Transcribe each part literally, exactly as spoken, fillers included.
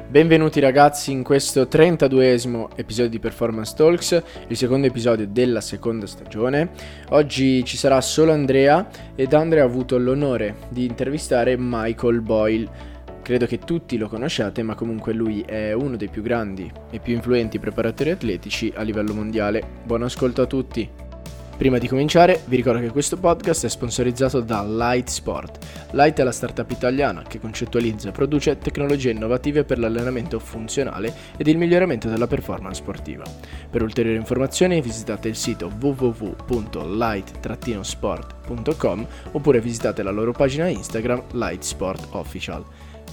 Benvenuti ragazzi in questo trentaduesimo episodio di Performance Talks, il secondo episodio della seconda stagione. Oggi ci sarà solo Andrea ed Andrea ha avuto l'onore di intervistare Michael Boyle. Credo che tutti lo conosciate, ma comunque lui è uno dei più grandi e più influenti preparatori atletici a livello mondiale. Buon ascolto a tutti! Prima di cominciare, vi ricordo che questo podcast è sponsorizzato da Light Sport. Light è la startup italiana che concettualizza e produce tecnologie innovative per l'allenamento funzionale ed il miglioramento della performance sportiva. Per ulteriori informazioni visitate il sito w w w punto light dash sport punto com oppure visitate la loro pagina Instagram Light Sport Official.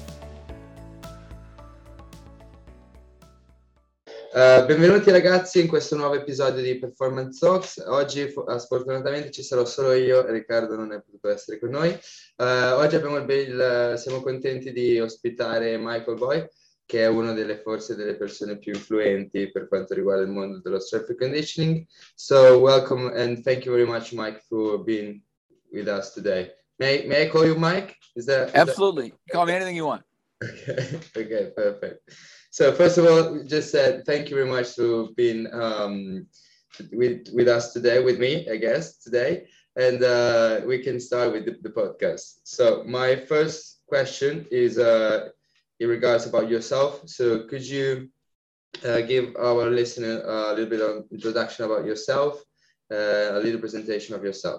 Uh, benvenuti ragazzi in questo nuovo episodio di Performance Talks. Oggi uh, sfortunatamente ci sarò solo io, Riccardo non è potuto essere con noi. Uh, oggi abbiamo il, il, siamo contenti di ospitare Michael Boyle, che è una delle forse delle persone più influenti per quanto riguarda il mondo dello strength and conditioning. So welcome and thank you very much, Mike, for being with us today. May, may I call you Mike? Is that, is Absolutely. That... Call me anything you want. Okay, okay, perfect. So first of all, just said uh, thank you very much for being um, with with us today, with me, I guess, today. And uh, we can start with the, the podcast. So my first question is uh, in regards about yourself. So could you uh, give our listener a little bit of introduction about yourself, uh, a little presentation of yourself?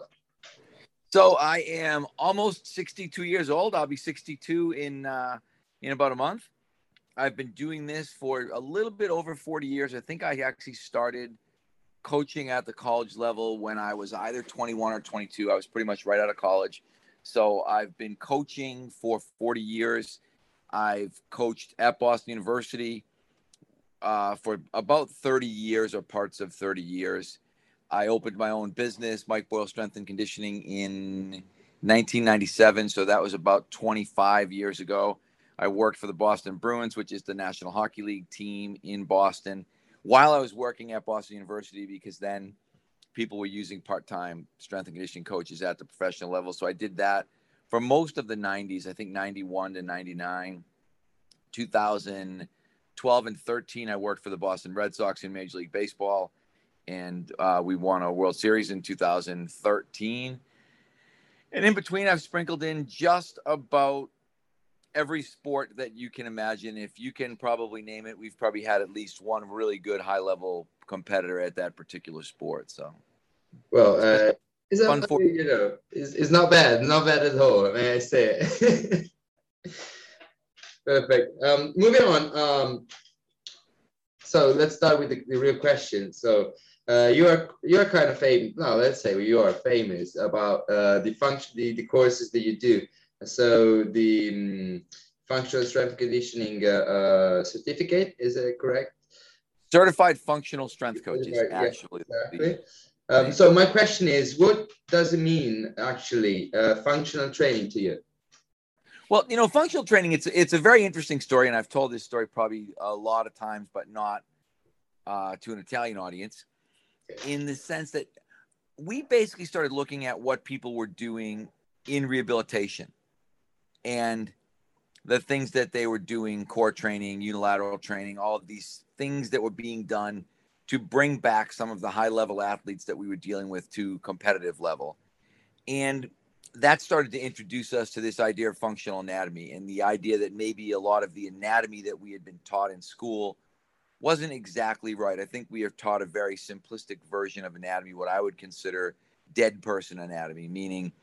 So I am almost sixty-two years old. I'll be sixty-two in uh, in about a month. I've been doing this for a little bit over forty years. I think I actually started coaching at the college level when I was either twenty-one or twenty-two. I was pretty much right out of college. So I've been coaching for forty years. I've coached at Boston University uh, for about thirty years or parts of thirty years. I opened my own business, Mike Boyle Strength and Conditioning, in nineteen ninety-seven. So that was about twenty-five years ago. I worked for the Boston Bruins, which is the National Hockey League team in Boston, while I was working at Boston University, because then people were using part-time strength and conditioning coaches at the professional level. So I did that for most of the nineties, I think ninety-one to ninety-nine. two thousand twelve and thirteen, I worked for the Boston Red Sox in Major League Baseball, and uh, we won a World Series in two thousand thirteen. And in between, I've sprinkled in just about every sport that you can imagine. If you can probably name it, we've probably had at least one really good high-level competitor at that particular sport. So, well, uh, it's, a, for- you know, it's, it's not bad, not bad at all. May I say it? Perfect. Um, moving on. Um, so let's start with the, the real question. So uh, you are you are kind of famous. No, let's say you are famous about uh, the function, the, the courses that you do. So the um, functional strength conditioning uh, uh, certificate, is that correct? Certified functional strength coaches, Certified, actually. Yeah, exactly. Um, so my question is, what does it mean actually, uh, functional training to you? Well, you know, functional training, it's it's a very interesting story, and I've told this story probably a lot of times, but not uh, to an Italian audience, in the sense that we basically started looking at what people were doing in rehabilitation. And the things that they were doing, core training, unilateral training, all of these things that were being done to bring back some of the high-level athletes that we were dealing with to competitive level. And that started to introduce us to this idea of functional anatomy, and the idea that maybe a lot of the anatomy that we had been taught in school wasn't exactly right. I think we are taught a very simplistic version of anatomy, what I would consider dead person anatomy, meaning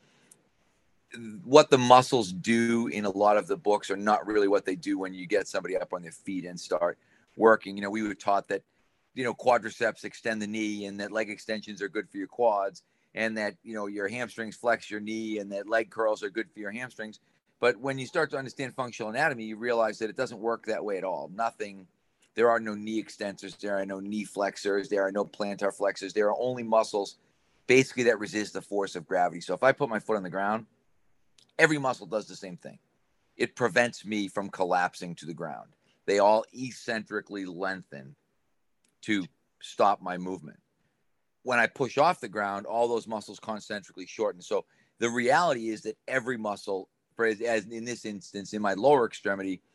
what the muscles do in a lot of the books are not really what they do when you get somebody up on their feet and start working. You know, we were taught that, you know, quadriceps extend the knee, and that leg extensions are good for your quads, and that, you know, your hamstrings flex your knee, and that leg curls are good for your hamstrings. But when you start to understand functional anatomy, you realize that it doesn't work that way at all. Nothing, there are no knee extensors, there are no knee flexors, there are no plantar flexors. There are only muscles basically that resist the force of gravity. So if I put my foot on the ground, every muscle does the same thing. It prevents me from collapsing to the ground. They all eccentrically lengthen to stop my movement. When I push off the ground, all those muscles concentrically shorten. So the reality is that every muscle, as in this instance, in my lower extremity,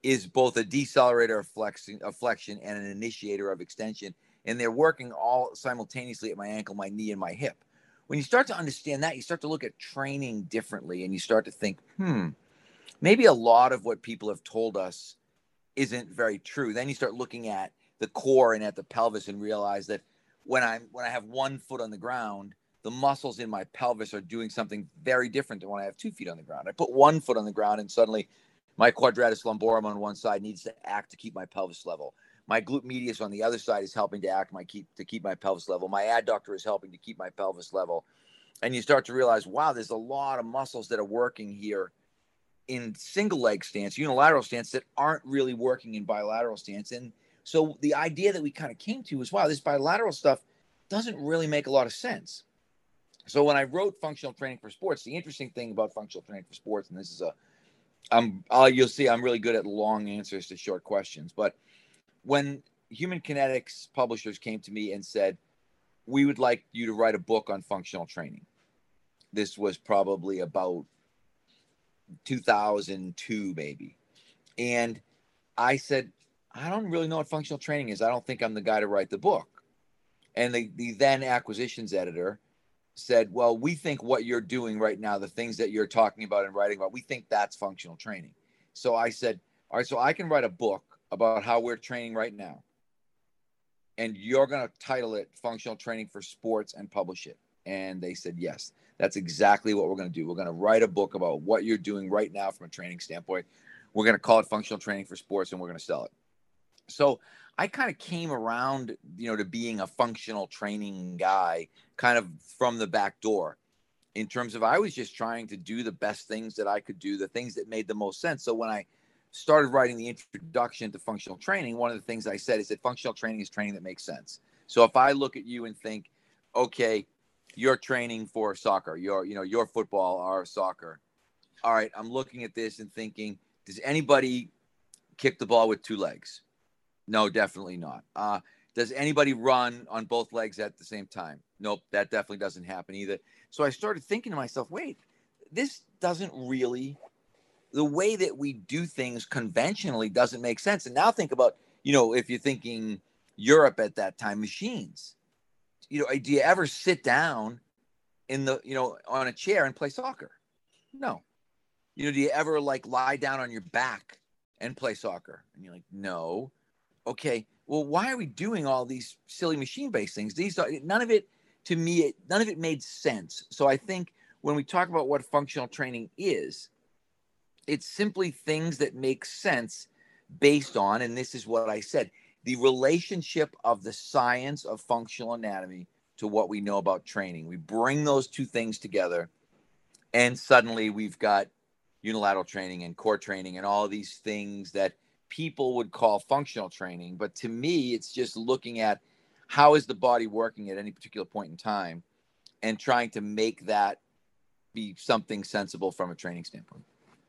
is both a decelerator of flexion, of flexion and an initiator of extension. And they're working all simultaneously at my ankle, my knee, and my hip. When you start to understand that, you start to look at training differently, and you start to think, hmm, maybe a lot of what people have told us isn't very true. Then you start looking at the core and at the pelvis and realize that when I'm when I have one foot on the ground, the muscles in my pelvis are doing something very different than when I have two feet on the ground. I put one foot on the ground and suddenly my quadratus lumborum on one side needs to act to keep my pelvis level. My glute medius on the other side is helping to act my keep to keep my pelvis level. My adductor is helping to keep my pelvis level. And you start to realize, wow, there's a lot of muscles that are working here in single leg stance, unilateral stance, that aren't really working in bilateral stance. And so the idea that we kind of came to was, wow, this bilateral stuff doesn't really make a lot of sense. So when I wrote Functional Training for Sports, the interesting thing about Functional Training for Sports, and this is a, I'm, uh, you'll see I'm really good at long answers to short questions, but when Human Kinetics publishers came to me and said, we would like you to write a book on functional training. This was probably about two thousand two, maybe. And I said, I don't really know what functional training is. I don't think I'm the guy to write the book. And the, the then acquisitions editor said, well, we think what you're doing right now, the things that you're talking about and writing about, we think that's functional training. So I said, all right, so I can write a book about how we're training right now. And you're going to title it Functional Training for Sports and publish it. And they said, yes, that's exactly what we're going to do. We're going to write a book about what you're doing right now from a training standpoint. We're going to call it Functional Training for Sports, and we're going to sell it. So I kind of came around, you know, to being a functional training guy kind of from the back door, in terms of I was just trying to do the best things that I could do, the things that made the most sense. So when I started writing the introduction to functional training, one of the things I said is that functional training is training that makes sense. So if I look at you and think, okay, you're training for soccer, you're, you know, your football or soccer. All right, I'm looking at this and thinking, does anybody kick the ball with two legs? No, definitely not. Uh, does anybody run on both legs at the same time? Nope, that definitely doesn't happen either. So I started thinking to myself, wait, this doesn't really, the way that we do things conventionally doesn't make sense. And now think about, you know, if you're thinking Europe at that time, machines, you know, do you ever sit down in the, you know, on a chair and play soccer? No. You know, do you ever like lie down on your back and play soccer? And you're like, no. Okay. Well, why are we doing all these silly machine-based things? These are, none of it, to me, none of it made sense. So I think when we talk about what functional training is, it's simply things that make sense based on, and this is what I said, the relationship of the science of functional anatomy to what we know about training. We bring those two things together, and suddenly we've got unilateral training and core training and all of these things that people would call functional training. But to me, it's just looking at how is the body working at any particular point in time and trying to make that be something sensible from a training standpoint.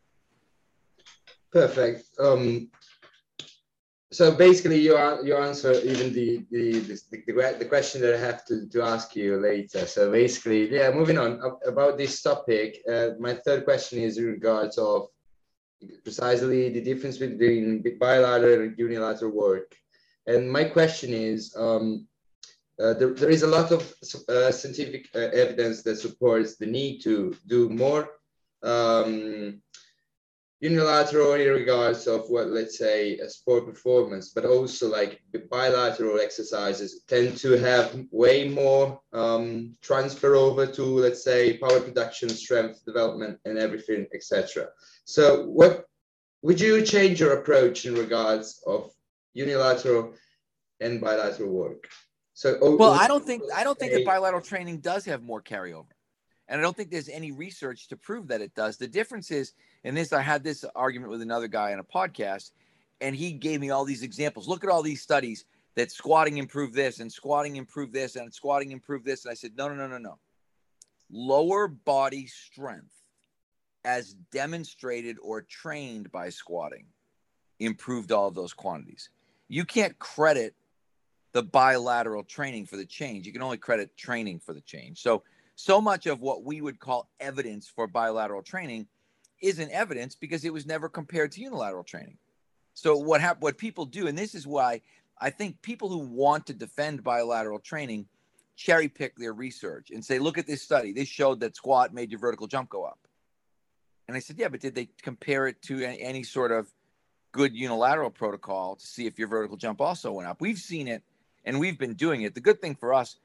Perfect. Um, so basically, you are, you answer even the the, the the the question that I have to to ask you later. So basically, yeah. Moving on about this topic, uh, my third question is in regards of precisely the difference between bilateral and unilateral work. And my question is, um, uh, there, there is a lot of uh, scientific uh, evidence that supports the need to do more um, unilateral in regards of what, let's say, a sport performance, but also like bilateral exercises tend to have way more um, transfer over to, let's say, power production, strength development, and everything, et cetera. So what would you change your approach in regards of unilateral and bilateral work? So, well, I don't think I don't think that bilateral training does have more carryover. And I don't think there's any research to prove that it does. The difference is, and this, I had this argument with another guy on a podcast, and he gave me all these examples. Look at all these studies that squatting improved this and squatting improved this and squatting improved this. And I said, no, no, no, no, no. Lower body strength as demonstrated or trained by squatting improved all of those quantities. You can't credit the bilateral training for the change. You can only credit training for the change. So, so much of what we would call evidence for bilateral training isn't evidence because it was never compared to unilateral training. So what hap- what people do, and this is why I think people who want to defend bilateral training cherry pick their research and say, look at this study. This showed that squat made your vertical jump go up. And I said, yeah, but did they compare it to any, any sort of good unilateral protocol to see if your vertical jump also went up? We've seen it and we've been doing it. The good thing for us,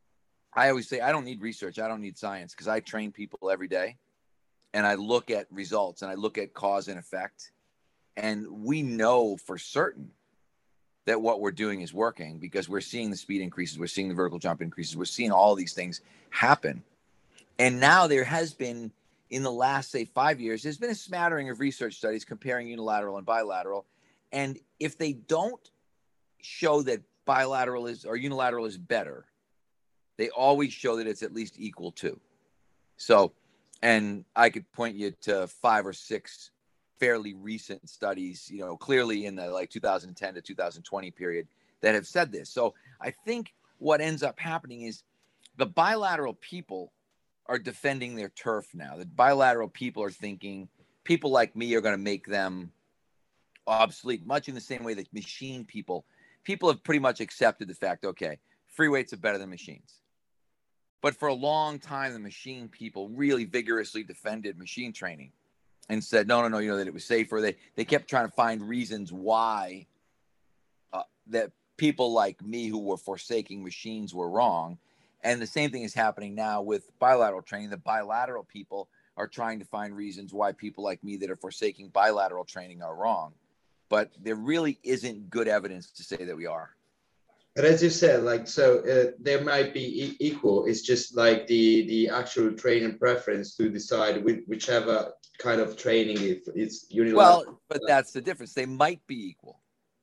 I always say, I don't need research. I don't need science, because I train people every day and I look at results and I look at cause and effect. And we know for certain that what we're doing is working, because we're seeing the speed increases. We're seeing the vertical jump increases. We're seeing all these things happen. And now there has been, in the last, say, five years, there's been a smattering of research studies comparing unilateral and bilateral. And if they don't show that bilateral is or unilateral is better, they always show that it's at least equal to. So, and I could point you to five or six fairly recent studies, you know, clearly in the like two thousand ten to two thousand twenty period, that have said this. So I think what ends up happening is the bilateral people are defending their turf now. The bilateral people are thinking people like me are going to make them obsolete, much in the same way that machine people, people have pretty much accepted the fact, okay, free weights are better than machines. But for a long time, the machine people really vigorously defended machine training and said, no, no, no, you know, that it was safer. They they kept trying to find reasons why uh, that people like me who were forsaking machines were wrong. And the same thing is happening now with bilateral training. The bilateral people are trying to find reasons why people like me that are forsaking bilateral training are wrong. But there really isn't good evidence to say that we are. But as you said, like, so uh, there might be e- equal. It's just like the the actual training preference to decide with whichever kind of training if it's unilateral. Well, but that's the difference. They might be equal.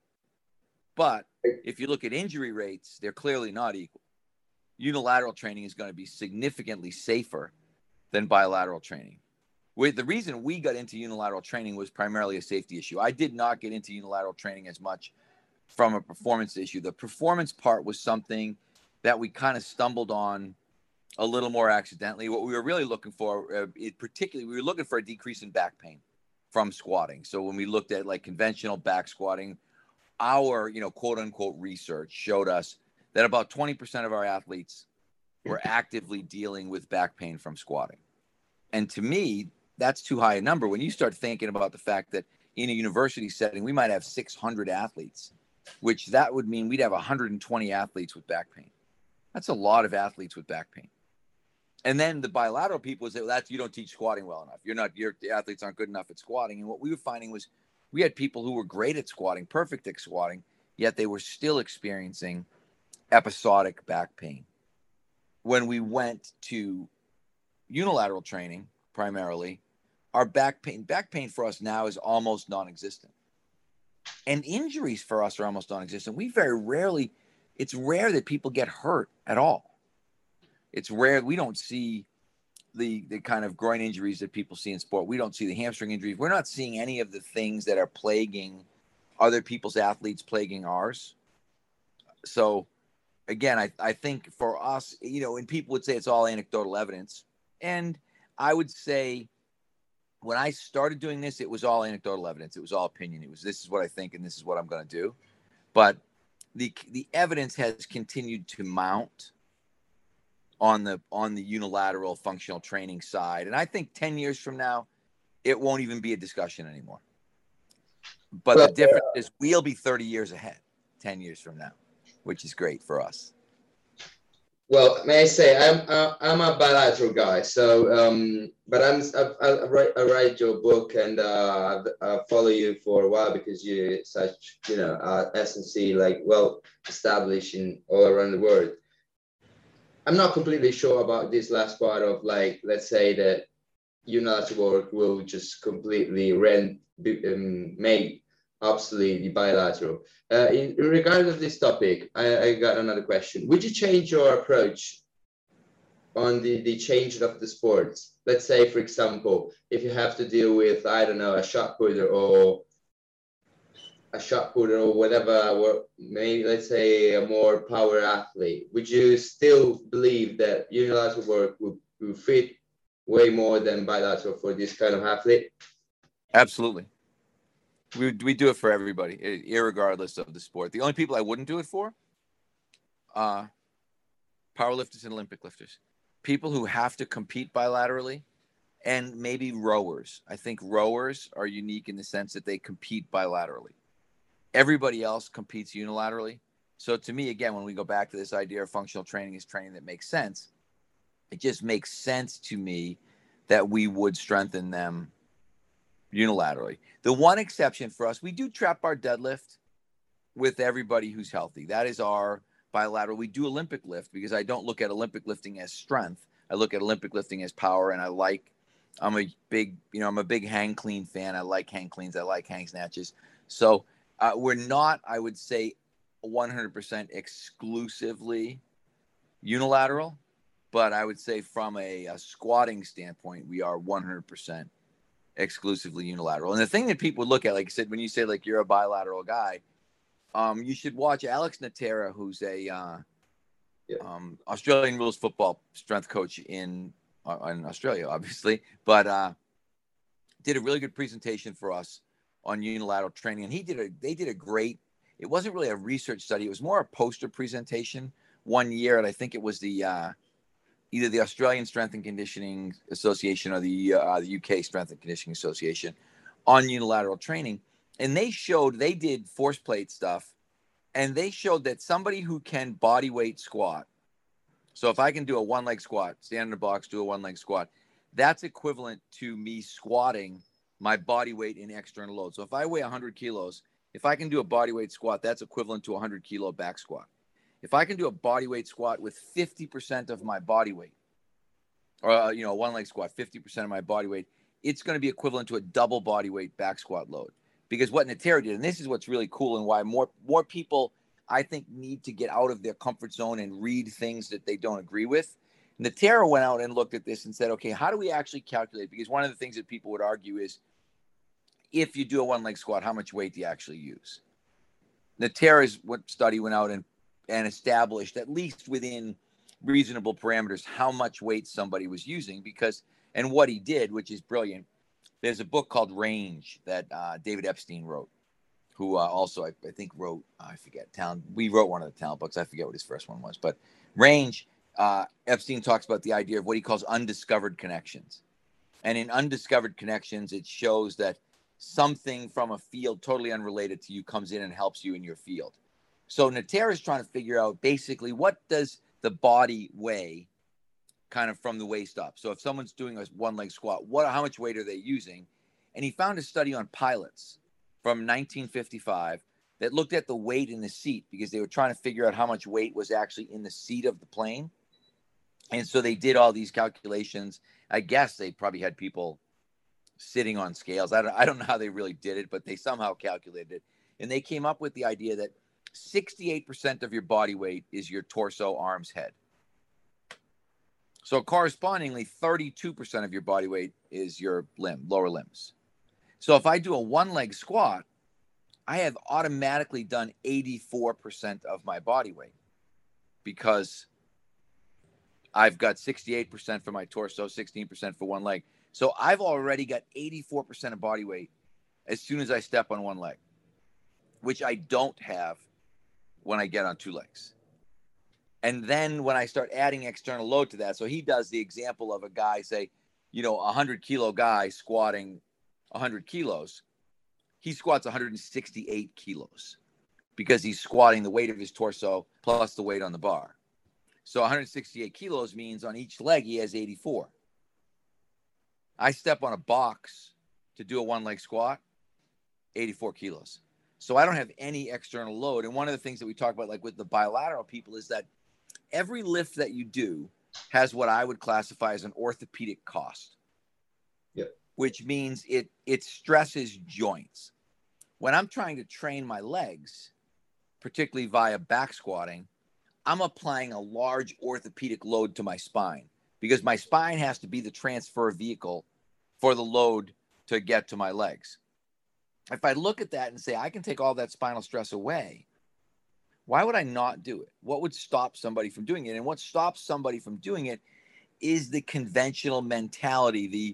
But if you look at injury rates, they're clearly not equal. Unilateral training is going to be significantly safer than bilateral training. With the reason we got into unilateral training was primarily a safety issue. I did not get into unilateral training as much from a performance issue. The performance part was something that we kind of stumbled on a little more accidentally. What we were really looking for, uh, it particularly, we were looking for a decrease in back pain from squatting. So when we looked at like conventional back squatting, our, you know, quote unquote research showed us that about twenty percent of our athletes were actively dealing with back pain from squatting. And to me, that's too high a number. When you start thinking about the fact that in a university setting, we might have six hundred athletes, which that would mean we'd have one hundred twenty athletes with back pain. That's a lot of athletes with back pain. And then the bilateral people would say, well, that's, you don't teach squatting well enough. You're not, your the athletes aren't good enough at squatting. And what we were finding was we had people who were great at squatting, perfect at squatting, yet they were still experiencing episodic back pain. When we went to unilateral training, primarily, our back pain, back pain for us now is almost non-existent. And injuries for us are almost non-existent. We very rarely, it's rare that people get hurt at all. It's rare. We don't see the, the kind of groin injuries that people see in sport. We don't see the hamstring injuries. We're not seeing any of the things that are plaguing other people's athletes, plaguing ours. So again, I, I think for us, you know, and people would say it's all anecdotal evidence. And I would say when I started doing this, it was all anecdotal evidence. It was all opinion. It was, this is what I think and this is what I'm going to do. But the the evidence has continued to mount on the on the unilateral functional training side. And I think ten years from now, it won't even be a discussion anymore. But the difference is we'll be thirty years ahead ten years from now, which is great for us. Well, may I say I'm uh, I'm a bilateral guy. So, um, but I'm I, I write I write your book and uh, I follow you for a while because you're such, you know, uh, S and C, like well established in all around the world. I'm not completely sure about this last part of, like, let's say that unilateral work will just completely rent um, make obsolete the bilateral. Uh, in, in regard of this topic, I, I got another question. Would you change your approach on the, the change of the sports? Let's say, for example, if you have to deal with, I don't know, a shot putter or a shot putter or whatever, or maybe let's say a more power athlete, would you still believe that unilateral work would, would fit way more than bilateral for this kind of athlete? Absolutely. We we do it for everybody, irregardless of the sport. The only people I wouldn't do it for, uh, powerlifters and Olympic lifters, people who have to compete bilaterally, and maybe rowers. I think rowers are unique in the sense that they compete bilaterally. Everybody else competes unilaterally. So to me, again, when we go back to this idea of functional training is training that makes sense, it just makes sense to me that we would strengthen them unilaterally. The one exception for us, we do trap bar deadlift with everybody who's healthy. That is our bilateral. We do Olympic lift because I don't look at Olympic lifting as strength. I look at Olympic lifting as power, and I like, I'm a big, you know, I'm a big hang clean fan. I like hang cleans. I like hang snatches. So uh, we're not, I would say, one hundred percent exclusively unilateral, but I would say from a, a squatting standpoint, we are one hundred percent exclusively unilateral. And the thing that people look at, like I said, when you say like you're a bilateral guy, um, you should watch Alex Natera, who's a uh, yeah. um, Australian rules football strength coach in uh, in Australia, obviously, but uh, did a really good presentation for us on unilateral training. And he did a, they did a great, it wasn't really a research study. It was more a poster presentation one year. And I think it was the, uh, either the Australian Strength and Conditioning Association or the, uh, the U K Strength and Conditioning Association on unilateral training. And they showed, they did force plate stuff, and they showed that somebody who can body weight squat, so if I can do a one leg squat, stand in a box, do a one leg squat, that's equivalent to me squatting my body weight in external load. So if I weigh one hundred kilos, if I can do a body weight squat, that's equivalent to a one hundred kilo back squat. If I can do a body weight squat with fifty percent of my body weight, or, uh, you know, a one leg squat, fifty percent of my body weight, it's going to be equivalent to a double body weight back squat load. Because what Natera did, and this is what's really cool and why more, more people, I think, need to get out of their comfort zone and read things that they don't agree with. Natera went out and looked at this and said, okay, how do we actually calculate? Because one of the things that people would argue is, if you do a one leg squat, how much weight do you actually use? Natera's study went out and, and established, at least within reasonable parameters, how much weight somebody was using. Because, and what he did, which is brilliant, there's a book called Range that uh, David Epstein wrote, who uh, also, I, I think, wrote, I forget, talent. We wrote one of the talent books. I forget what his first one was. But Range, uh, Epstein talks about the idea of what he calls undiscovered connections. And in undiscovered connections, it shows that something from a field totally unrelated to you comes in and helps you in your field. So Natera is trying to figure out basically what does the body weigh kind of from the waist up. So if someone's doing a one leg squat, what, how much weight are they using? And he found a study on pilots from nineteen fifty-five that looked at the weight in the seat, because they were trying to figure out how much weight was actually in the seat of the plane. And so they did all these calculations. I guess they probably had people sitting on scales. I don't, I don't know how they really did it, but they somehow calculated it. And they came up with the idea that sixty-eight percent of your body weight is your torso, arms, head. So correspondingly, thirty-two percent of your body weight is your limb, lower limbs. So if I do a one leg squat, I have automatically done eighty-four percent of my body weight, because I've got sixty-eight percent for my torso, sixteen percent for one leg. So I've already got eighty-four percent of body weight as soon as I step on one leg, which I don't have when I get on two legs. And then when I start adding external load to that, so he does the example of a guy, say, you know, a one hundred kilo guy squatting one hundred kilos, he squats one hundred sixty-eight kilos because he's squatting the weight of his torso plus the weight on the bar. So one hundred sixty-eight kilos means on each leg he has eighty-four. I step on a box to do a one leg squat, eighty-four kilos. So I don't have any external load. And one of the things that we talk about, like with the bilateral people, is that every lift that you do has what I would classify as an orthopedic cost. Yep. Which means it it stresses joints. When I'm trying to train my legs, particularly via back squatting, I'm applying a large orthopedic load to my spine, because my spine has to be the transfer vehicle for the load to get to my legs. If I look at that and say, I can take all that spinal stress away, why would I not do it? What would stop somebody from doing it? And what stops somebody from doing it is the conventional mentality, the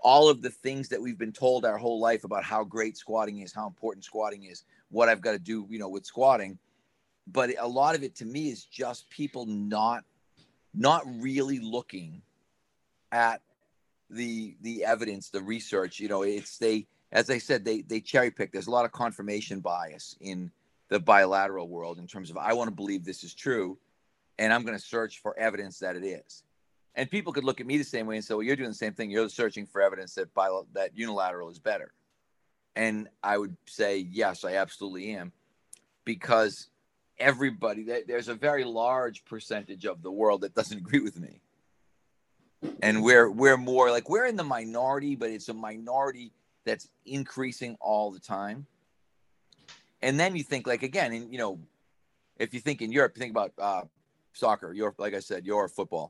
all of the things that we've been told our whole life about how great squatting is, how important squatting is, what I've got to do, you know, with squatting. But a lot of it to me is just people not, not really looking at the, the evidence, the research. You know, it's, they, as I said, they, they cherry pick. There's a lot of confirmation bias in the bilateral world in terms of, I want to believe this is true, and I'm going to search for evidence that it is. And people could look at me the same way and say, well, you're doing the same thing. You're searching for evidence that bil- that unilateral is better. And I would say, yes, I absolutely am. Because everybody, there's a very large percentage of the world that doesn't agree with me. And we're, we're more like, we're in the minority, but it's a minority that's increasing all the time. And then you think, like, again, in, you know, if you think in Europe, you think about uh, soccer, your, like I said, your football.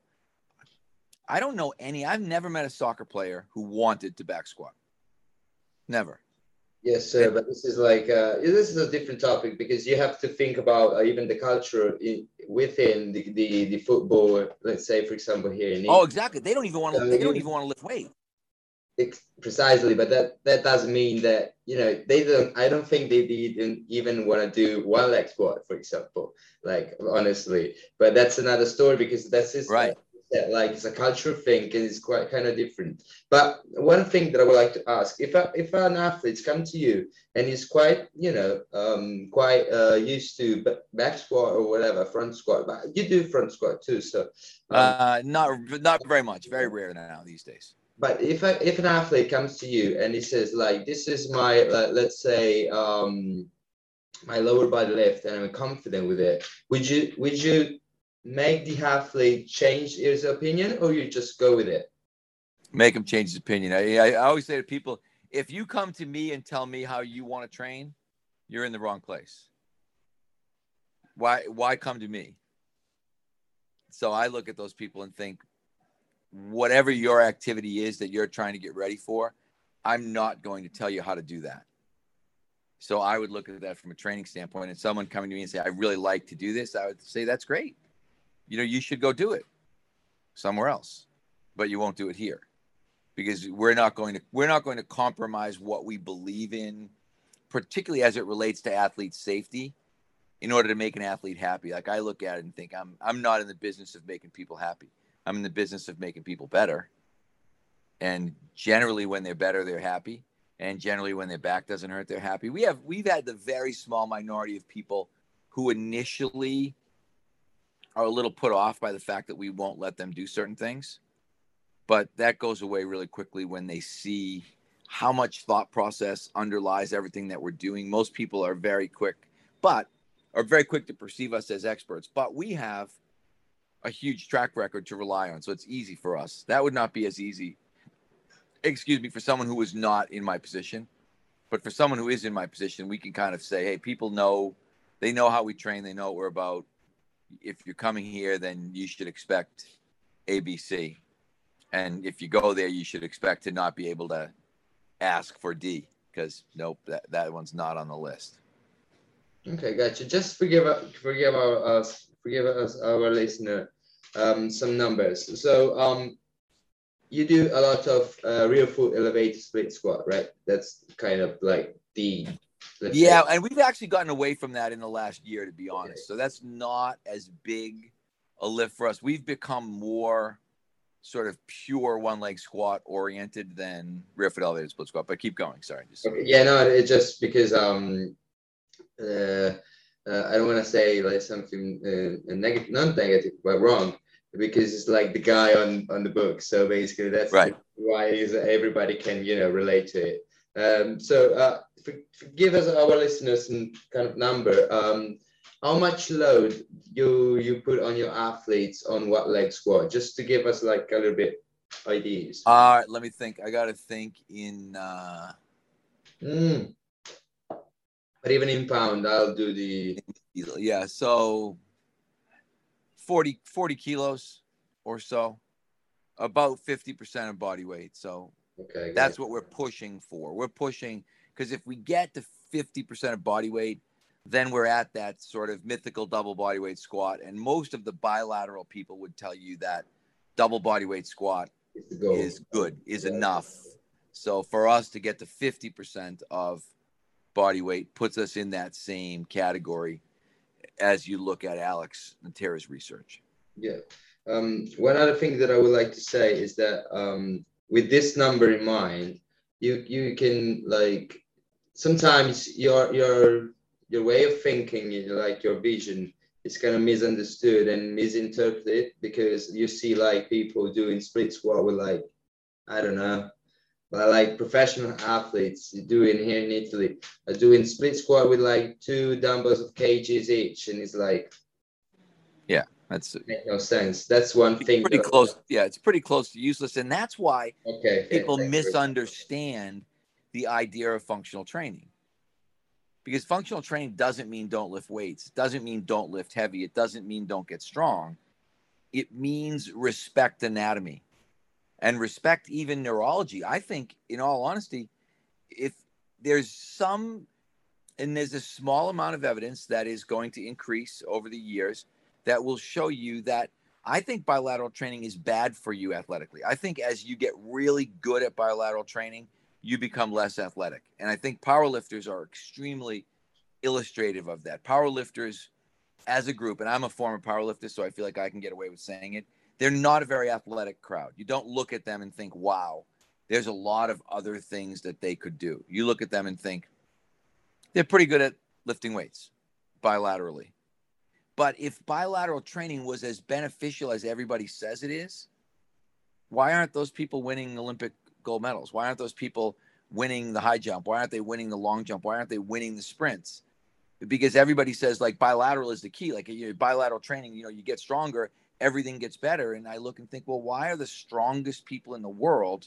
I don't know any, I've never met a soccer player who wanted to back squat. Never. Yes, sir. But this is like, uh, this is a different topic because you have to think about uh, even the culture in, within the, the, the football, let's say, for example, here in England. Oh, exactly. They don't even want to, So they don't you, even want to lift weight. Precisely. But that, that doesn't mean that, you know, they don't, I don't think they didn't even want to do one leg squat, for example, like, honestly. But that's another story because that's just, right. Uh, Yeah, like it's a cultural thing and it's quite kind of different. But one thing that I would like to ask, if a, if an athlete's come to you and he's quite, you know, um, quite uh, used to back squat or whatever, front squat, but you do front squat too, so um, uh, not not very much, very rare now these days. But if I, if an athlete comes to you and he says like, this is my uh, let's say um, my lower body lift and I'm confident with it, would you would you make the athlete change his opinion, or you just go with it? Make him change his opinion. I, I always say to people, if you come to me and tell me how you want to train, you're in the wrong place. Why, why come to me? So I look at those people and think, whatever your activity is that you're trying to get ready for, I'm not going to tell you how to do that. So I would look at that from a training standpoint, and someone coming to me and say, I really like to do this, I would say, that's great. You know, you should go do it somewhere else, but you won't do it here because we're not going to, we're not going to compromise what we believe in, particularly as it relates to athlete safety, in order to make an athlete happy. Like I look at it and think, I'm, I'm not in the business of making people happy. I'm in the business of making people better. And generally when they're better, they're happy. And generally when their back doesn't hurt, they're happy. We have, we've had the very small minority of people who initially are a little put off by the fact that we won't let them do certain things. But that goes away really quickly when they see how much thought process underlies everything that we're doing. Most people are very quick, but are very quick to perceive us as experts. But we have a huge track record to rely on. So it's easy for us. That would not be as easy, excuse me, for someone who is not in my position. But for someone who is in my position, we can kind of say, hey, people know, they know how we train. They know what we're about. If you're coming here, then you should expect A, B, C. And if you go there, you should expect to not be able to ask for D because nope, that, that one's not on the list. Okay, gotcha. Just forgive forgive our us forgive us our listener um, some numbers. So um, you do a lot of uh, rear foot elevated split squat, right? That's kind of like the yeah, say. And we've actually gotten away from that in the last year, to be honest. Okay. So that's not as big a lift for us. We've become more sort of pure one leg squat oriented than rear foot elevated split squat. But keep going. Sorry. Just... Okay. Yeah, no, it's just because um, uh, uh, I don't want to say like something uh, negative, not negative, but wrong, because it's like the guy on on the book. So basically, that's right. why is everybody can you know relate to it. Um, so uh, for, for give us our listeners some kind of number. Um, how much load you you put on your athletes on what leg squat, just to give us like a little bit ideas. All right, let me think. I got to think in. Uh... Mm. But even in pound, I'll do the. Yeah, so forty, forty kilos or so, about fifty percent of body weight. So okay, that's what we're pushing for. We're pushing because if we get to fifty percent of body weight, then we're at that sort of mythical double body weight squat. And most of the bilateral people would tell you that double body weight squat is good, is yeah. enough So for us to get to fifty percent of body weight puts us in that same category as you look at Alex and Tara's research. Yeah. Um, one other thing that I would like to say is that um, with this number in mind, you you can like sometimes your your your way of thinking, like your vision, is kind of misunderstood and misinterpreted because you see like people doing split squat with like, I don't know, but like professional athletes doing here in Italy are doing split squat with like two dumbbells of kgs each, and it's like, yeah, that's make no sense. That's one thing. Pretty that, close. Yeah, it's pretty close to useless, and that's why okay, people okay, misunderstand the idea of functional training. Because functional training doesn't mean don't lift weights. It doesn't mean don't lift heavy. It doesn't mean don't get strong. It means respect anatomy and respect even neurology. I think, in all honesty, if there's some, and there's a small amount of evidence that is going to increase over the years that will show you that I think bilateral training is bad for you athletically. I think as you get really good at bilateral training, you become less athletic. And I think powerlifters are extremely illustrative of that. Powerlifters as a group, and I'm a former powerlifter, so I feel like I can get away with saying it, they're not a very athletic crowd. You don't look at them and think, wow, there's a lot of other things that they could do. You look at them and think, they're pretty good at lifting weights bilaterally. But if bilateral training was as beneficial as everybody says it is, why aren't those people winning Olympic gold medals? Why aren't those people winning the high jump? Why aren't they winning the long jump? Why aren't they winning the sprints? Because everybody says like bilateral is the key. Like you know, bilateral training, you know, you get stronger, everything gets better. And I look and think, well, why are the strongest people in the world,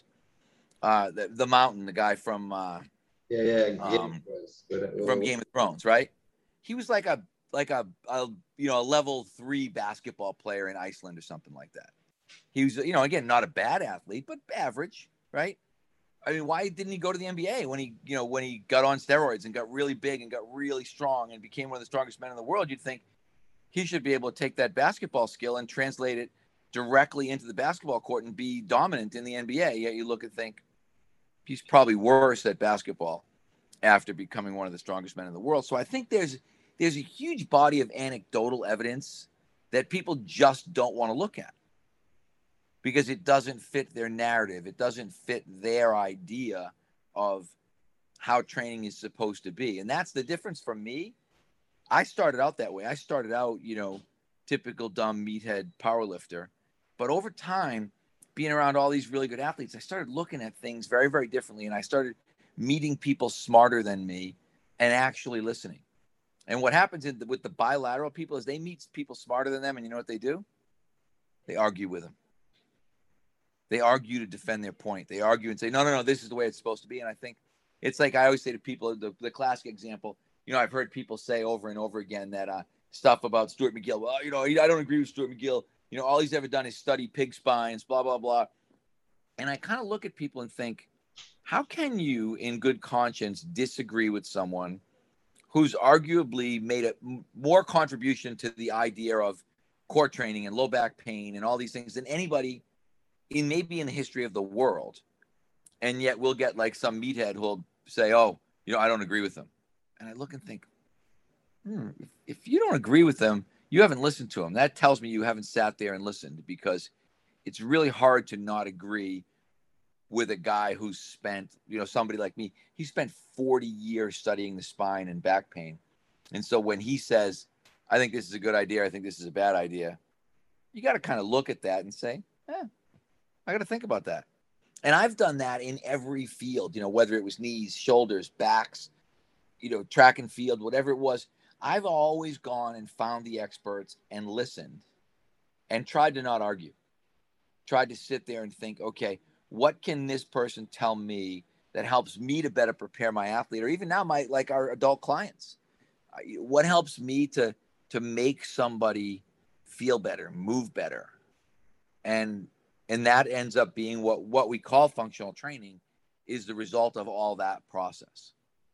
uh, the, the Mountain, the guy from uh, yeah, yeah, um, but, from Game of Thrones, right? He was like a like a, a you know a level three basketball player in Iceland or something like that. He was, you know, again, not a bad athlete, but average, right? I mean, why didn't he go to the N B A when he, you know, when he got on steroids and got really big and got really strong and became one of the strongest men in the world? You'd think he should be able to take that basketball skill and translate it directly into the basketball court and be dominant in the N B A. Yet you look and think he's probably worse at basketball after becoming one of the strongest men in the world. So I think there's there's a huge body of anecdotal evidence that people just don't want to look at, because it doesn't fit their narrative. It doesn't fit their idea of how training is supposed to be. And that's the difference from me. I started out that way. I started out, you know, typical dumb meathead powerlifter. But over time, being around all these really good athletes, I started looking at things very, very differently. And I started meeting people smarter than me and actually listening. And what happens in the, with the bilateral people is they meet people smarter than them. And you know what they do? They argue with them. They argue to defend their point. They argue and say, no, no, no, this is the way it's supposed to be. And I think it's like I always say to people, the, the classic example, you know, I've heard people say over and over again that uh, stuff about Stuart McGill. Well, you know, I don't agree with Stuart McGill. You know, all he's ever done is study pig spines, blah, blah, blah. And I kind of look at people and think, how can you in good conscience disagree with someone who's arguably made a more contribution to the idea of core training and low back pain and all these things than anybody in maybe in the history of the world? And yet we'll get like some meathead who'll say, oh, you know, I don't agree with them. And I look and think, hmm, if, if you don't agree with them, you haven't listened to them. That tells me you haven't sat there and listened, because it's really hard to not agree with a guy who's spent, you know, somebody like me, he spent forty years studying the spine and back pain. And so when he says, I think this is a good idea, I think this is a bad idea, you got to kind of look at that and say, eh, I got to think about that. And I've done that in every field, you know, whether it was knees, shoulders, backs, you know, track and field, whatever it was. I've always gone and found the experts and listened and tried to not argue, tried to sit there and think, okay, what can this person tell me that helps me to better prepare my athlete, or even now my, like our adult clients? What helps me to, to make somebody feel better, move better? And, and that ends up being what, what we call functional training, is the result of all that process.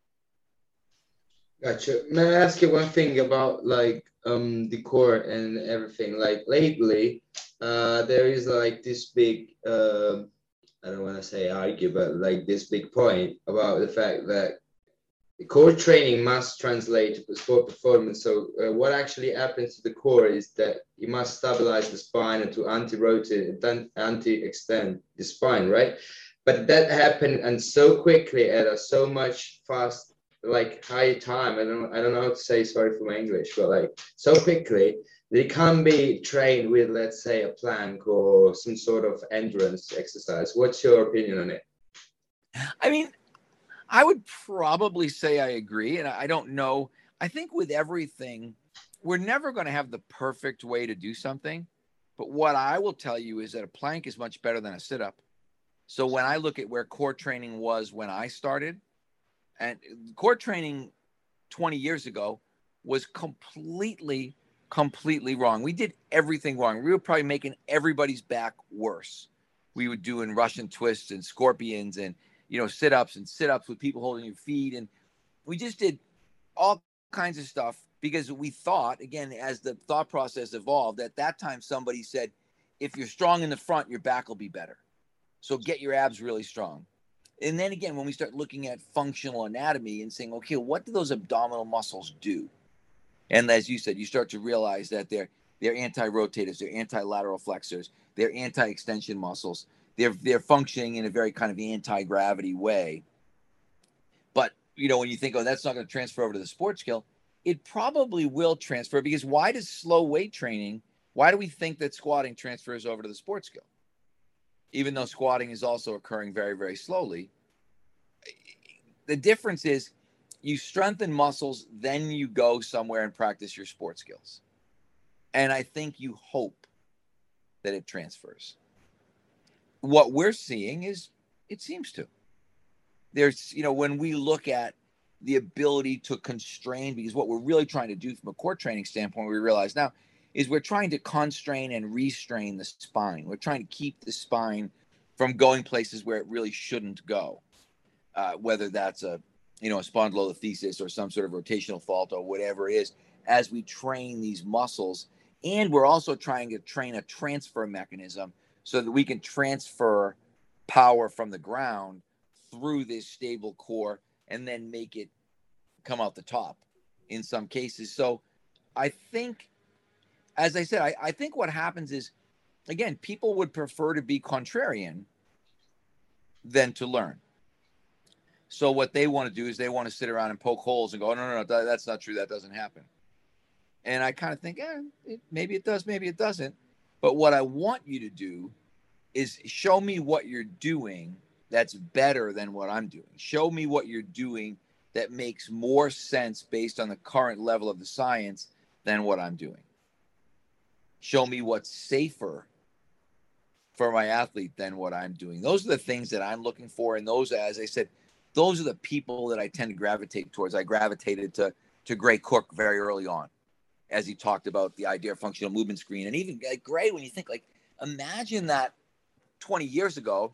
Gotcha. May I ask you one thing about like um the core and everything? Like lately, uh, there is like this big uh, I don't want to say argue, but like this big point about the fact that core training must translate to sport performance. So uh, what actually happens to the core is that you must stabilize the spine and to anti-rotate, anti-extend the spine, right? But that happened and so quickly at a so much fast, like high time. I don't, I don't know how to say, sorry for my English, but like so quickly, they can't be trained with, let's say, a plank or some sort of endurance exercise. What's your opinion on it? I mean, I would probably say I agree. And I don't know. I think with everything, we're never going to have the perfect way to do something. But what I will tell you is that a plank is much better than a sit-up. So when I look at where core training was when I started, and core training twenty years ago was completely, completely wrong. We did everything wrong. We were probably making everybody's back worse. We were doing Russian twists and scorpions and, you know, sit-ups and sit-ups with people holding your feet. And we just did all kinds of stuff because we thought, again, as the thought process evolved, at that time, somebody said, if you're strong in the front, your back will be better. So get your abs really strong. And then again, when we start looking at functional anatomy and saying, okay, what do those abdominal muscles do? And as you said, you start to realize that they're they're anti-rotators, they're anti-lateral flexors, they're anti-extension muscles. They're they're functioning in a very kind of anti-gravity way. But, you know, when you think, oh, that's not going to transfer over to the sports skill, it probably will transfer, because why does slow weight training, why do we think that squatting transfers over to the sports skill? Even though squatting is also occurring very, very slowly. The difference is you strengthen muscles, then you go somewhere and practice your sports skills. And I think you hope that it transfers. What we're seeing is it seems to. There's, you know, when we look at the ability to constrain, because what we're really trying to do from a core training standpoint, we realize now, is we're trying to constrain and restrain the spine. We're trying to keep the spine from going places where it really shouldn't go, uh, whether that's a, you know, a spondylolisthesis or some sort of rotational fault or whatever it is, as we train these muscles. And we're also trying to train a transfer mechanism so that we can transfer power from the ground through this stable core and then make it come out the top in some cases. So I think, as I said, I, I think what happens is, again, people would prefer to be contrarian than to learn. So what they want to do is they want to sit around and poke holes and go, no, no, no, that, that's not true. That doesn't happen. And I kind of think, eh, it, maybe it does, maybe it doesn't. But what I want you to do is show me what you're doing that's better than what I'm doing. Show me what you're doing that makes more sense based on the current level of the science than what I'm doing. Show me what's safer for my athlete than what I'm doing. Those are the things that I'm looking for. And those, as I said, those are the people that I tend to gravitate towards. I gravitated to, to Gray Cook very early on, as he talked about the idea of functional movement screen. And even like Gray, when you think, like, imagine that twenty years ago,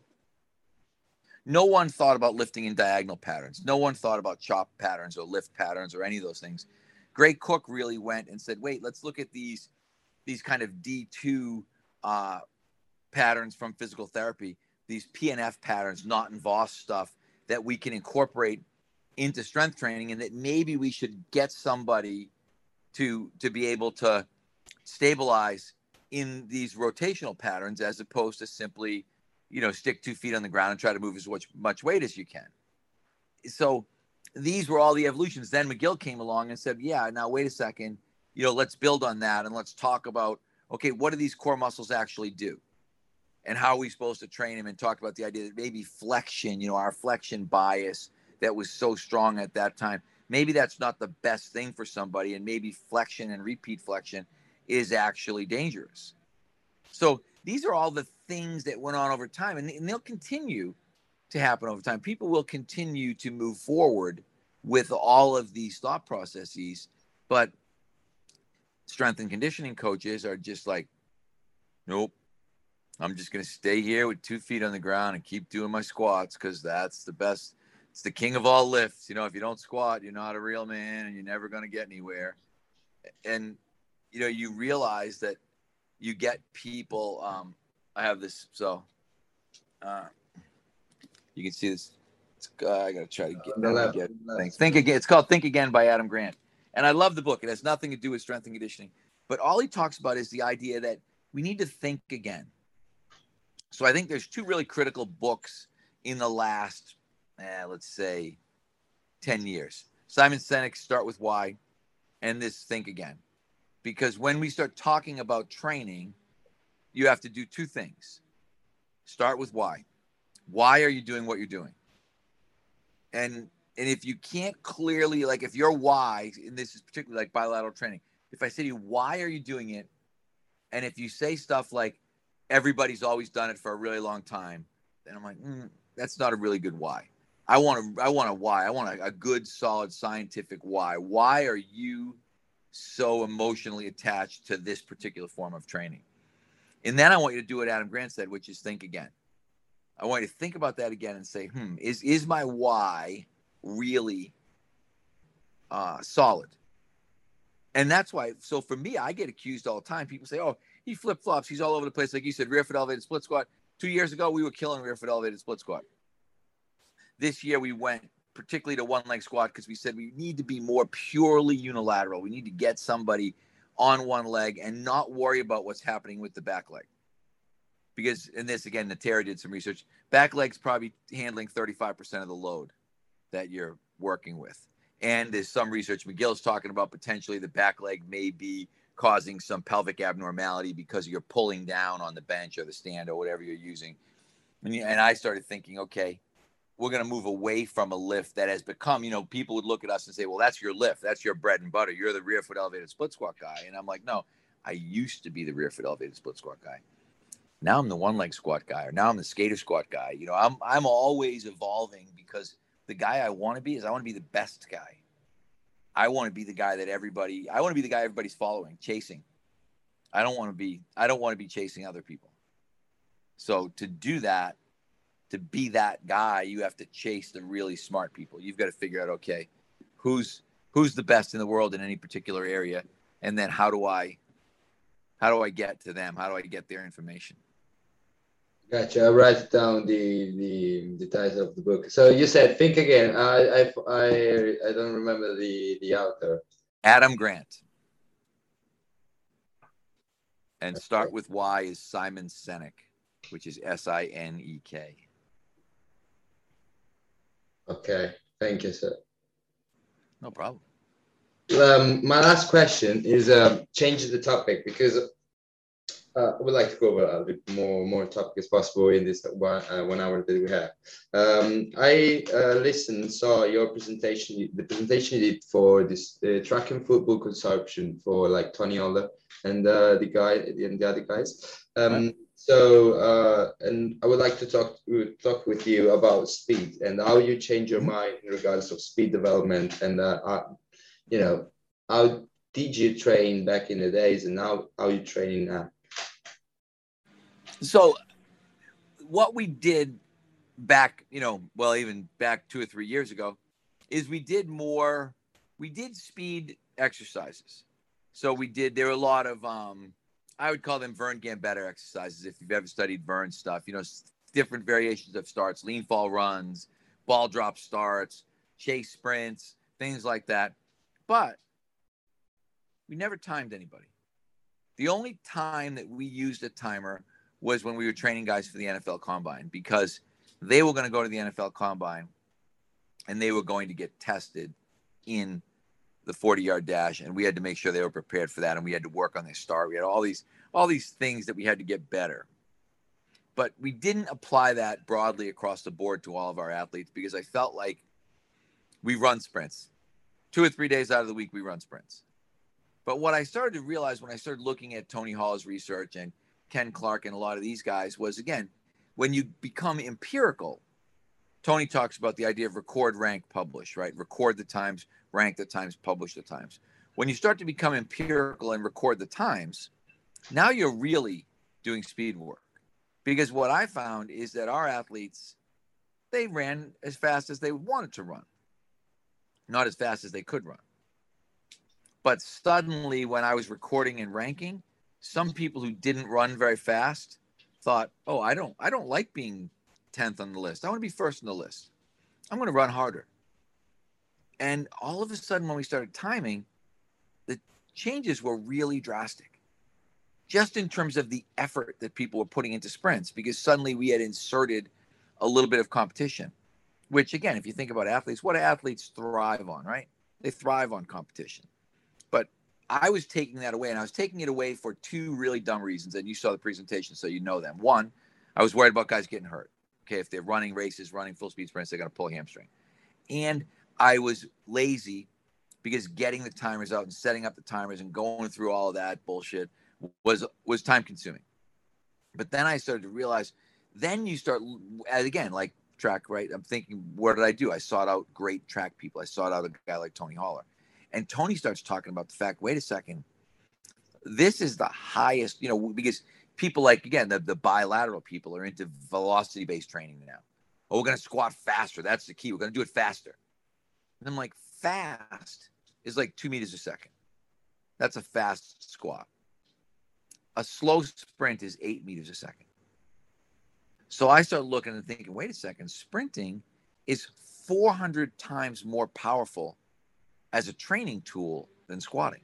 no one thought about lifting in diagonal patterns. No one thought about chop patterns or lift patterns or any of those things. Gray Cook really went and said, wait, let's look at these, these kind of D two uh, patterns from physical therapy, these P N F patterns, Knott and Voss stuff that we can incorporate into strength training, and that maybe we should get somebody to, to be able to stabilize in these rotational patterns as opposed to simply, you know, stick two feet on the ground and try to move as much, much weight as you can. So these were all the evolutions. Then McGill came along and said, yeah, now wait a second, you know, let's build on that and let's talk about, okay, what do these core muscles actually do? And how are we supposed to train them? And talk about the idea that maybe flexion, you know, our flexion bias that was so strong at that time, maybe that's not the best thing for somebody. And maybe flexion and repeat flexion is actually dangerous. So these are all the things that went on over time, and, and they'll continue to happen over time. People will continue to move forward with all of these thought processes, but strength and conditioning coaches are just like, nope, I'm just going to stay here with two feet on the ground and keep doing my squats because that's the best. It's the king of all lifts. You know, if you don't squat, you're not a real man and you're never going to get anywhere. And, you know, you realize that you get people, um, I have this, so uh, You can see this. It's, uh, I got to try to get, On the left, get on the left. things. Think Again. It's called Think Again by Adam Grant. And I love the book. It has nothing to do with strength and conditioning. But all he talks about is the idea that we need to think again. So I think there's two really critical books in the last, eh, let's say, ten years. Simon Sinek's Start With Why and this Think Again. Because when we start talking about training, you have to do two things. Start with why. Why are you doing what you're doing? And and if you can't clearly, like if your why, and this is particularly like bilateral training, if I say to you, why are you doing it? And if you say stuff like, everybody's always done it for a really long time, then I'm like, mm, that's not a really good why. I want to, I want a why. I want a, a good, solid, scientific why. Why are you so emotionally attached to this particular form of training? And then I want you to do what Adam Grant said, which is think again. I want you to think about that again and say, hmm, is, is my why really uh, solid? And that's why, so for me, I get accused all the time. People say, oh, he flip-flops. He's all over the place. Like you said, rear foot elevated split squat. Two years ago, we were killing rear foot elevated split squat. This year, we went particularly to one leg squat because we said we need to be more purely unilateral. We need to get somebody on one leg and not worry about what's happening with the back leg. Because in this, again, Natera did some research. Back leg's probably handling thirty-five percent of the load that you're working with. And there's some research, McGill's talking about potentially the back leg may be causing some pelvic abnormality because you're pulling down on the bench or the stand or whatever you're using. And, and I started thinking, okay, we're going to move away from a lift that has become, you know, people would look at us and say, well, that's your lift. That's your bread and butter. You're the rear foot elevated split squat guy. And I'm like, no, I used to be the rear foot elevated split squat guy. Now I'm the one leg squat guy, or now I'm the skater squat guy. You know, I'm, I'm always evolving because the guy I want to be is I want to be the best guy. I want to be the guy that everybody, I want to be the guy everybody's following, chasing. I don't want to be, I don't want to be chasing other people. So to do that, to be that guy, you have to chase the really smart people. You've got to figure out, okay, who's, who's the best in the world in any particular area? And then how do I, how do I get to them? How do I get their information? Gotcha. I'll write down the, the the title of the book. So you said Think Again. I I I, I don't remember the the author. Adam Grant. And Start With Why is Simon Sinek, which is S I N E K. Okay. Thank you, sir. No problem. Um, my last question is uh, changing the topic because Uh, I would like to go over a bit more more topic as possible in this one, uh, one hour that we have. Um, I uh, listened, saw your presentation, the presentation you did for this uh, track and football consortium for like Tony Oller and uh, the guy and the other guys. Um, Right. So, uh, and I would like to talk talk with you about speed and how you change your mind in regards of speed development and uh, uh, you know, how did you train back in the days and now how you training now? So what we did back, you know, well, even back two or three years ago, is we did more, we did speed exercises. So we did, there were a lot of, um, I would call them Vern Gambetta exercises. If you've ever studied Vern stuff, you know, different variations of starts, lean fall runs, ball drop starts, chase sprints, things like that. But we never timed anybody. The only time that we used a timer was when we were training guys for the N F L Combine, because they were going to go to the N F L Combine and they were going to get tested in the forty-yard dash, and we had to make sure they were prepared for that, and we had to work on their start. We had all these all these things that we had to get better. But we didn't apply that broadly across the board to all of our athletes because I felt like we run sprints. Two or three days out of the week, we run sprints. But what I started to realize when I started looking at Tony Hall's research and Ken Clark and a lot of these guys was, again, when you become empirical, Tony talks about the idea of record, rank, publish, right? Record the times, rank the times, publish the times. When you start to become empirical and record the times, now you're really doing speed work. Because what I found is that our athletes, they ran as fast as they wanted to run, not as fast as they could run. But suddenly when I was recording and ranking, some people who didn't run very fast thought, oh, I don't, I don't like being tenth on the list. I want to be first on the list. I'm going to run harder. And all of a sudden, when we started timing, the changes were really drastic, just in terms of the effort that people were putting into sprints, because suddenly we had inserted a little bit of competition, which, again, if you think about athletes, what do athletes thrive on, right? They thrive on competition. But I was taking that away, and I was taking it away for two really dumb reasons, and you saw the presentation, so you know them. One, I was worried about guys getting hurt. Okay, if they're running races, running full-speed sprints, they're going to pull a hamstring. And I was lazy because getting the timers out and setting up the timers and going through all of that bullshit was was time consuming. But then I started to realize, then you start, again, like track, right? I'm thinking, what did I do? I sought out great track people. I sought out a guy like Tony Holler. And Tony starts talking about the fact, wait a second, this is the highest, you know, because people like, again, the, the bilateral people are into velocity-based training now. Oh, we're going to squat faster. That's the key. We're going to do it faster. And I'm like, fast is like two meters a second. That's a fast squat. A slow sprint is eight meters a second. So I started looking and thinking, wait a second, sprinting is four hundred times more powerful as a training tool than squatting.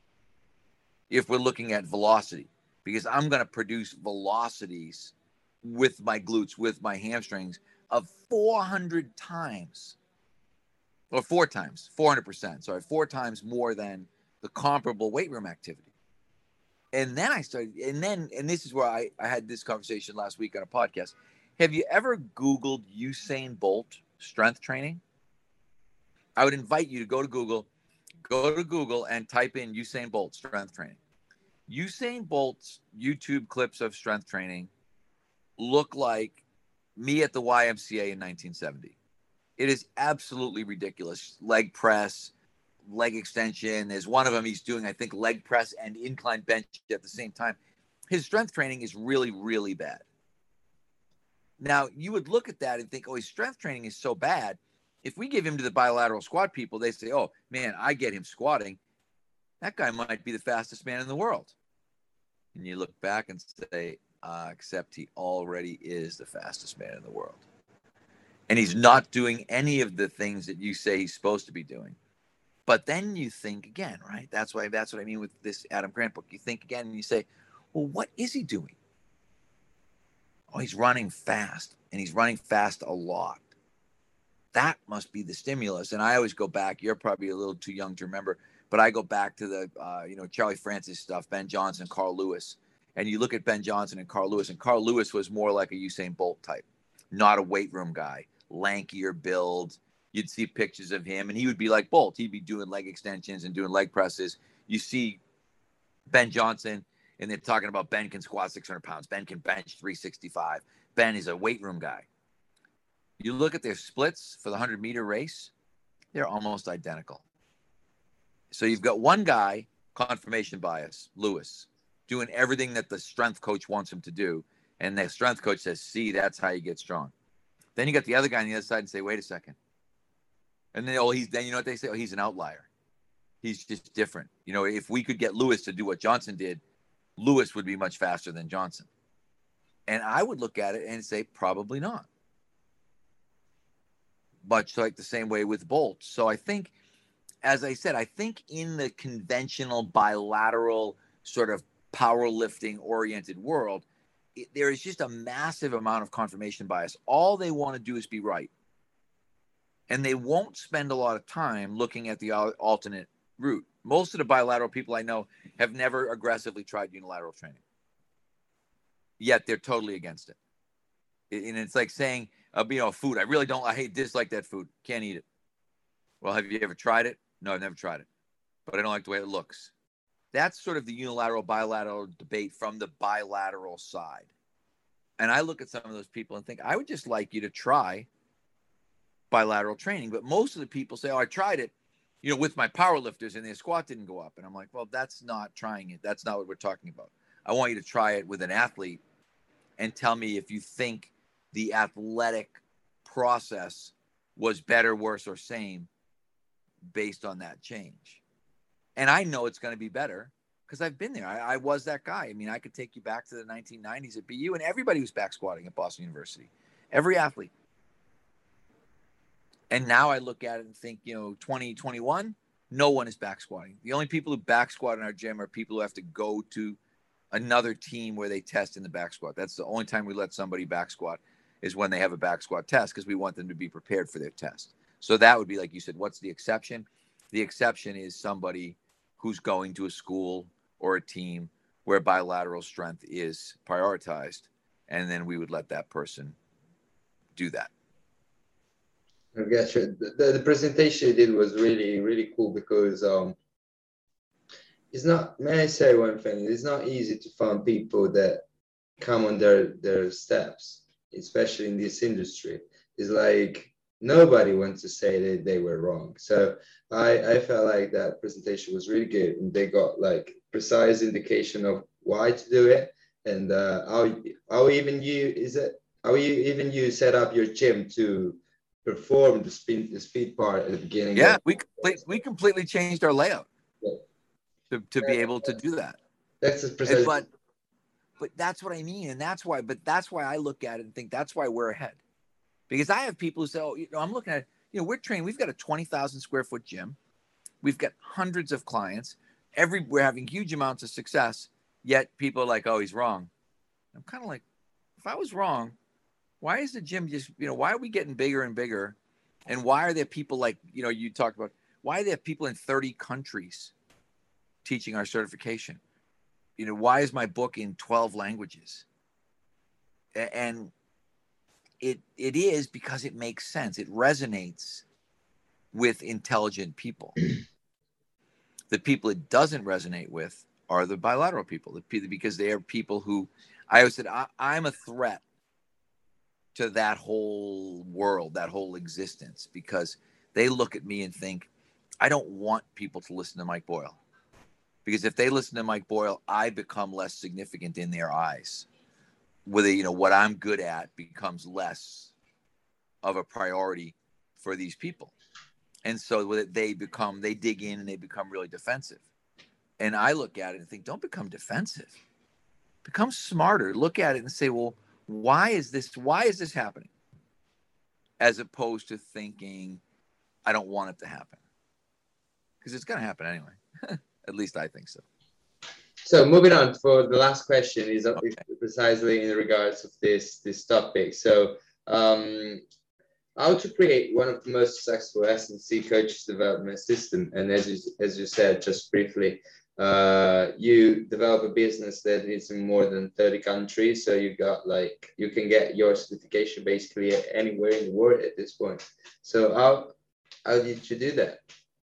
If we're looking at velocity, because I'm going to produce velocities with my glutes, with my hamstrings of four hundred times. Or four times, four hundred percent, sorry, four times more than the comparable weight room activity. And then I started, and then, and this is where I, I had this conversation last week on a podcast. Have you ever Googled Usain Bolt strength training? I would invite you to go to Google, go to Google and type in Usain Bolt strength training. Usain Bolt's YouTube clips of strength training look like me at the Y M C A in nineteen seventy. It is absolutely ridiculous. Leg press, leg extension. There's one of them he's doing, I think, leg press and incline bench at the same time. His strength training is really, really bad. Now, you would look at that and think, oh, his strength training is so bad. If we give him to the bilateral squat people, they say, oh, man, I get him squatting. That guy might be the fastest man in the world. And you look back and say, uh, except he already is the fastest man in the world. And he's not doing any of the things that you say he's supposed to be doing. But then you think again, right? That's why that's what I mean with this Adam Grant book. You think again and you say, well, what is he doing? Oh, he's running fast, and he's running fast a lot. That must be the stimulus. And I always go back. You're probably a little too young to remember, but I go back to the, uh, you know, Charlie Francis stuff, Ben Johnson, Carl Lewis. And you look at Ben Johnson and Carl Lewis, and Carl Lewis was more like a Usain Bolt type, not a weight room guy. Lankier build. You'd see pictures of him, and he would be like Bolt. He'd be doing leg extensions and doing leg presses. You see Ben Johnson, and they're talking about Ben can squat six hundred pounds. Ben can bench three sixty-five. Ben is a weight room guy. You look at their splits for the one hundred meter race, they're almost identical. So you've got one guy, confirmation bias, Lewis, doing everything that the strength coach wants him to do, and the strength coach says, see, that's how you get strong. Then you got the other guy on the other side and say, wait a second. And then, oh, he's, then you know what they say? Oh, he's an outlier. He's just different. You know, if we could get Lewis to do what Johnson did, Lewis would be much faster than Johnson. And I would look at it and say, probably not. Much like the same way with Bolt. So I think, as I said, I think in the conventional bilateral sort of powerlifting oriented world, it, there is just a massive amount of confirmation bias. All they want to do is be right. And they won't spend a lot of time looking at the alternate route. Most of the bilateral people I know have never aggressively tried unilateral training. Yet they're totally against it. And it's like saying, uh, you know, food. I really don't, I hate, dislike that food. Can't eat it. Well, have you ever tried it? No, I've never tried it. But I don't like the way it looks. That's sort of the unilateral, bilateral debate from the bilateral side. And I look at some of those people and think, I would just like you to try bilateral training. But most of the people say, oh, I tried it, you know, with my power lifters and their squat didn't go up. And I'm like, well, that's not trying it. That's not what we're talking about. I want you to try it with an athlete and tell me if you think the athletic process was better, worse, or same based on that change. And I know it's going to be better because I've been there. I, I was that guy. I mean, I could take you back to the nineteen nineties at B U, and everybody was back squatting at Boston University. Every athlete. And now I look at it and think, you know, twenty twenty-one, no one is back squatting. The only people who back squat in our gym are people who have to go to another team where they test in the back squat. That's the only time we let somebody back squat, is when they have a back squat test, because we want them to be prepared for their test. So that would be, like you said, what's the exception? The exception is somebody who's going to a school or a team where bilateral strength is prioritized, and then we would let that person do that. I guess the, the, the presentation you did was really, really cool, because um, it's not, may I say one thing, it's not easy to find people that come on their, their steps, especially in this industry. It's like nobody wants to say that they were wrong. So I, I felt like that presentation was really good, and they got like precise indication of why to do it, and uh, how, how even you, is it, how you even you set up your gym to perform the speed, the speed part at the beginning. Yeah, of- we complete, we completely changed our layout Yeah. to, to be able to do that. That's And, precisely. but but that's what I mean, and that's why. But that's why I look at it and think that's why we're ahead, because I have people who say, "Oh, you know, I'm looking at, you know, we're trained. We've got a twenty thousand square foot gym. We've got hundreds of clients. Every we're having huge amounts of success. Yet people are like, oh, he's wrong. I'm kind of like, if I was wrong, why is the gym just, you know, why are we getting bigger and bigger? And why are there people like, you know, you talked about, why are there people in thirty countries teaching our certification? You know, why is my book in twelve languages? And it it is because it makes sense. It resonates with intelligent people. The people it doesn't resonate with are the bilateral people, the people, because they are people who, I always said, I, I'm a threat to that whole world, that whole existence, because they look at me and think, I don't want people to listen to Mike Boyle, because if they listen to Mike Boyle, I become less significant in their eyes. Whether, you know, what I'm good at becomes less of a priority for these people. And so they become, they dig in and they become really defensive. And I look at it and think, don't become defensive. Become smarter. Look at it and say, well, why is this, why is this happening? As opposed to thinking, I don't want it to happen. Because it's going to happen anyway. At least I think so. So moving on for the last question is Okay. precisely in regards of this, this topic. So um, how to create one of the most successful S and C coaches development system. And as you, as you said, just briefly, uh, you develop a business that is in more than thirty countries. So you got like, you can get your certification basically anywhere in the world at this point. So how, how did you do that?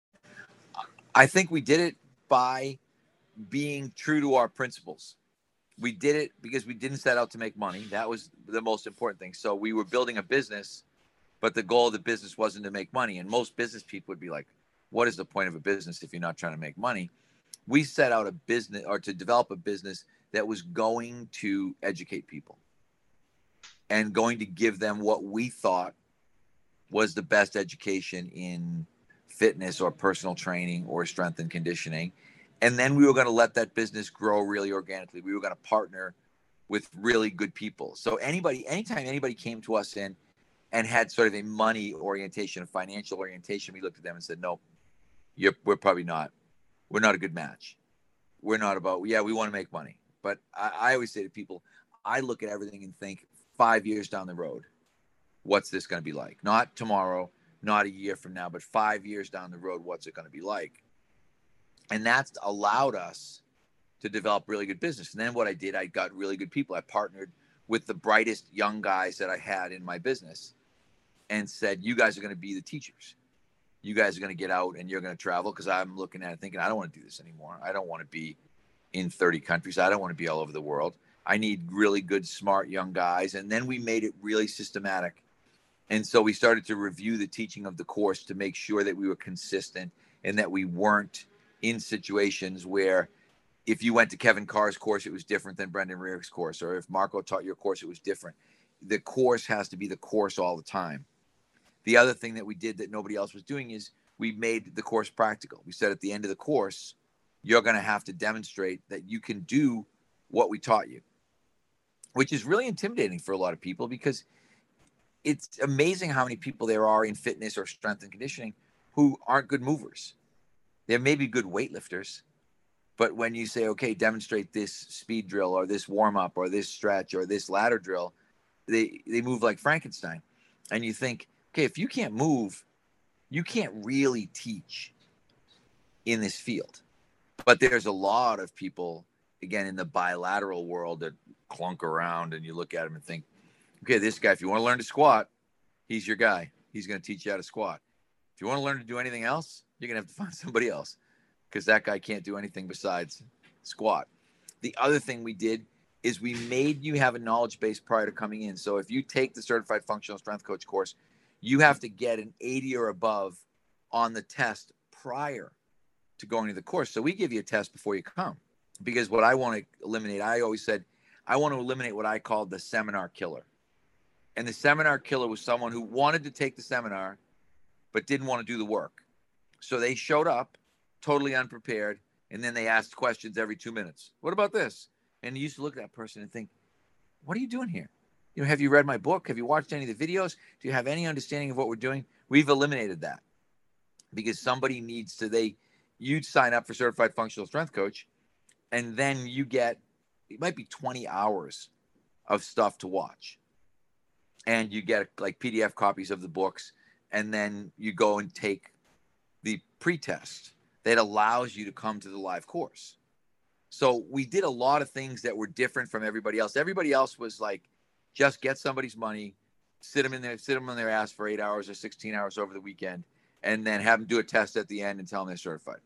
I think we did it by being true to our principles. We did it because we didn't set out to make money. That was the most important thing. So we were building a business, but the goal of the business wasn't to make money. And most business people would be like, what is the point of a business if you're not trying to make money? We set out a business, or to develop a business that was going to educate people and going to give them what we thought was the best education in fitness or personal training or strength and conditioning. And then we were going to let that business grow really organically. We were going to partner with really good people. So anybody, anytime anybody came to us in and had sort of a money orientation, a financial orientation, we looked at them and said, no, you're, we're probably not, we're not a good match. We're not about, yeah, we want to make money. But I, I always say to people, I look at everything and think five years down the road, what's this going to be like? Not tomorrow, not a year from now, but five years down the road, what's it going to be like? And that's allowed us to develop really good business. And then what I did, I got really good people. I partnered with the brightest young guys that I had in my business and said, you guys are going to be the teachers. You guys are going to get out and you're going to travel, because I'm looking at it thinking, I don't want to do this anymore. I don't want to be in thirty countries. I don't want to be all over the world. I need really good, smart young guys. And then we made it really systematic. And so we started to review the teaching of the course to make sure that we were consistent and that we weren't in situations where if you went to Kevin Carr's course, it was different than Brendan Rearick's course, or if Marco taught your course, it was different. The course has to be the course all the time. The other thing that we did that nobody else was doing is we made the course practical. We said at the end of the course, you're going to have to demonstrate that you can do what we taught you, which is really intimidating for a lot of people, because it's amazing how many people there are in fitness or strength and conditioning who aren't good movers. They may be good weightlifters, but when you say, okay, demonstrate this speed drill or this warm up or this stretch or this ladder drill, they, they move like Frankenstein. And you think, okay, if you can't move, you can't really teach in this field. But there's a lot of people, again, in the bilateral world that clunk around and you look at them and think, okay, this guy, if you want to learn to squat, he's your guy. He's going to teach you how to squat. If you want to learn to do anything else, you're going to have to find somebody else, because that guy can't do anything besides squat. The other thing we did is we made you have a knowledge base prior to coming in. So if you take the Certified Functional Strength Coach course, you have to get an eighty or above on the test prior to going to the course. So we give you a test before you come, because what I want to eliminate, I always said, I want to eliminate what I called the seminar killer. And the seminar killer was someone who wanted to take the seminar, but didn't want to do the work. So they showed up totally unprepared, and then they asked questions every two minutes. What about this? And you used to look at that person and think, what are you doing here? You know, have you read my book? Have you watched any of the videos? Do you have any understanding of what we're doing? We've eliminated that, because somebody needs to, they, you'd sign up for Certified Functional Strength Coach, and then you get, it might be twenty hours of stuff to watch. And you get like P D F copies of the books, and then you go and take the pre-test that allows you to come to the live course. So we did a lot of things that were different from everybody else. Everybody else was like, just get somebody's money, sit them in there, sit them on their ass for eight hours or sixteen hours over the weekend, and then have them do a test at the end and tell them they're certified.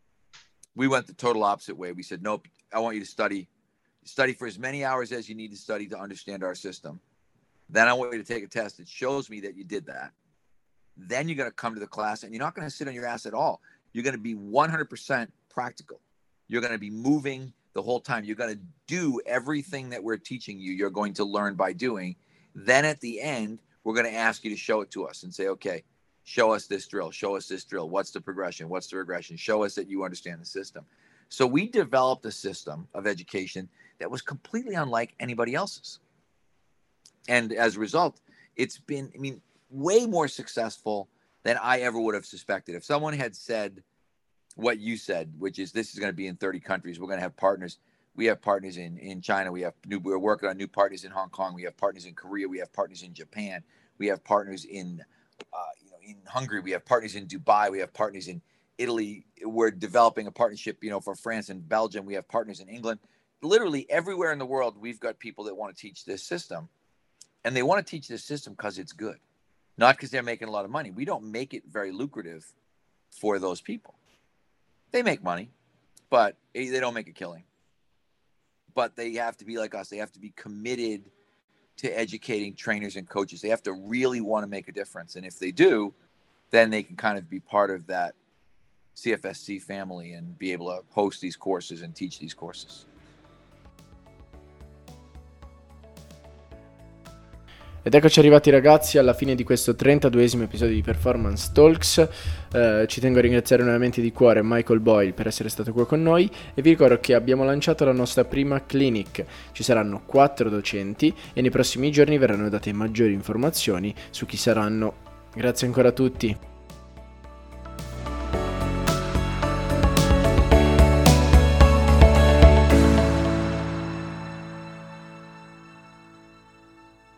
We went the total opposite way. We said, nope, I want you to study, study for as many hours as you need to study to understand our system. Then I want you to take a test that shows me that you did that. Then you're going to come to the class, and you're not going to sit on your ass at all. You're going to be one hundred percent practical. You're going to be moving the whole time. You're going to do everything that we're teaching you. You're going to learn by doing. Then at the end, we're going to ask you to show it to us and say, okay, show us this drill. Show us this drill. What's the progression? What's the regression? Show us that you understand the system. So we developed a system of education that was completely unlike anybody else's. And as a result, it's been, I mean, way more successful than I ever would have suspected. If someone had said what you said, which is this is going to be in thirty countries, we're going to have partners. We have partners in, in China. We have new, we're working on new partners in Hong Kong. We have partners in Korea. We have partners in Japan. We have partners in, uh, you know, in Hungary. We have partners in Dubai. We have partners in Italy. We're developing a partnership, you know, for France and Belgium. We have partners in England. Literally everywhere in the world, we've got people that want to teach this system. And they want to teach this system because it's good, not because they're making a lot of money. We don't make it very lucrative for those people. They make money, but they don't make a killing. But they have to be like us. They have to be committed to educating trainers and coaches. They have to really want to make a difference. And if they do, then they can kind of be part of that C F S C family and be able to host these courses and teach these courses. Ed eccoci arrivati ragazzi alla fine di questo trentaduesimo episodio di Performance Talks. Eh, ci tengo a ringraziare nuovamente di cuore Michael Boyle per essere stato qua con noi e vi ricordo che abbiamo lanciato la nostra prima clinic. Ci saranno quattro docenti e nei prossimi giorni verranno date maggiori informazioni su chi saranno. Grazie ancora a tutti.